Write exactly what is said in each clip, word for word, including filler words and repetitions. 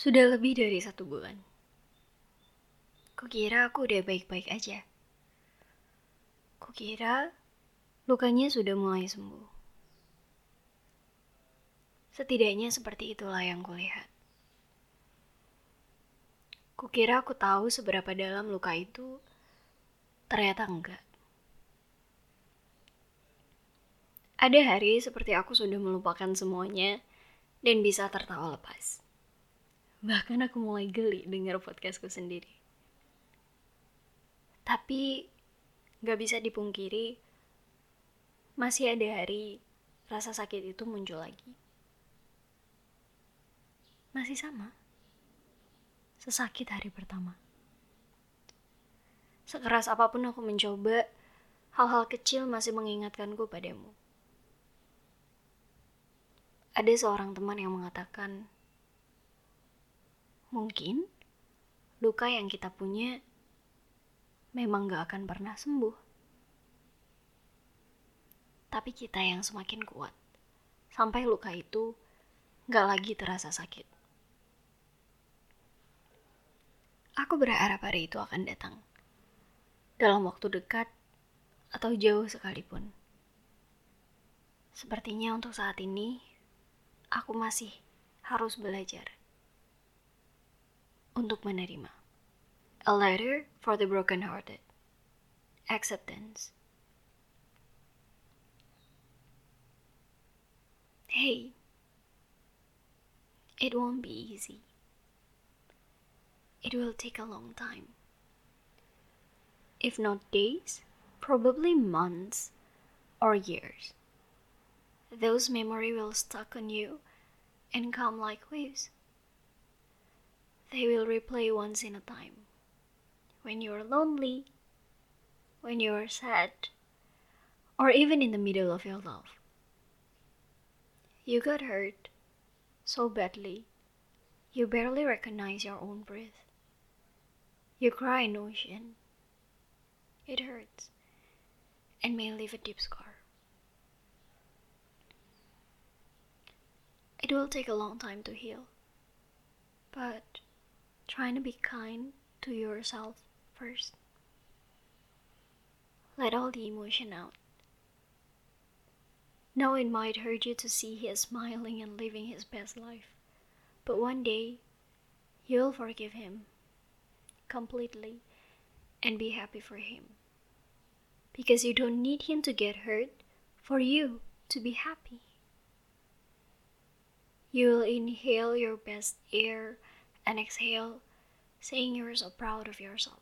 Sudah lebih dari satu bulan. Kukira aku udah baik-baik aja. Kukira lukanya sudah mulai sembuh. Setidaknya seperti itulah yang kulihat. Kukira aku tahu seberapa dalam luka itu, ternyata enggak. Ada hari seperti aku sudah melupakan semuanya dan bisa tertawa lepas. Bahkan aku mulai geli dengar podcastku sendiri. Tapi gak bisa dipungkiri, masih ada hari rasa sakit itu muncul lagi. Masih sama, sesakit hari pertama. Sekeras apapun aku mencoba, hal-hal kecil masih mengingatkanku padamu. Ada seorang teman yang mengatakan, mungkin luka yang kita punya memang gak akan pernah sembuh. Tapi kita yang semakin kuat, sampai luka itu gak lagi terasa sakit. Aku berharap hari itu akan datang, dalam waktu dekat atau jauh sekalipun. Sepertinya untuk saat ini, aku masih harus belajar untuk menerima. A letter for the broken-hearted. Acceptance. Hey, it won't be easy. It will take a long time. If not days, probably months or years. Those memories will stuck on you and come like waves. They will replay once in a time. When you're lonely, when you're sad, or even in the middle of your love. You got hurt so badly, you barely recognize your own breath. You cry in ocean. It hurts and may leave a deep scar. It will take a long time to heal, but trying to be kind to yourself first. Let all the emotion out. Now it might hurt you to see he is smiling and living his best life, but one day you'll forgive him completely and be happy for him. Because you don't need him to get hurt for you to be happy. You'll inhale your best air and exhale, saying you're so proud of yourself.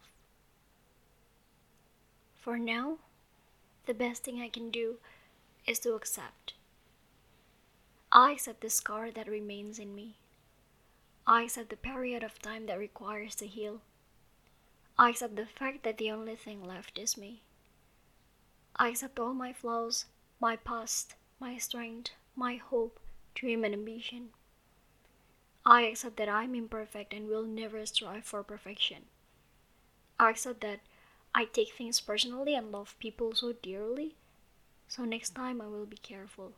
For now, the best thing I can do is to accept. I accept the scar that remains in me. I accept the period of time that requires to heal. I accept the fact that the only thing left is me. I accept all my flaws, my past, my strength, my hope, dream and ambition. I accept that I'm imperfect and will never strive for perfection. I accept that I take things personally and love people so dearly, so next time I will be careful.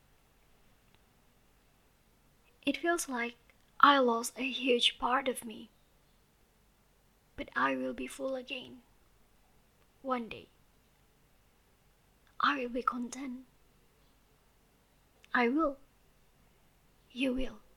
It feels like I lost a huge part of me, but I will be full again. One day, I will be content. I will. You will.